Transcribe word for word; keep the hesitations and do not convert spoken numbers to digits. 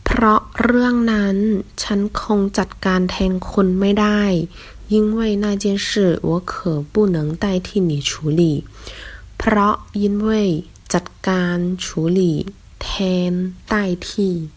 เพราะเรื่องนั้นฉันคงจัดการแทนคุณไม่ได้因为那件事我可不能代替你处理เพราะ因为จัดการ处理แทน代替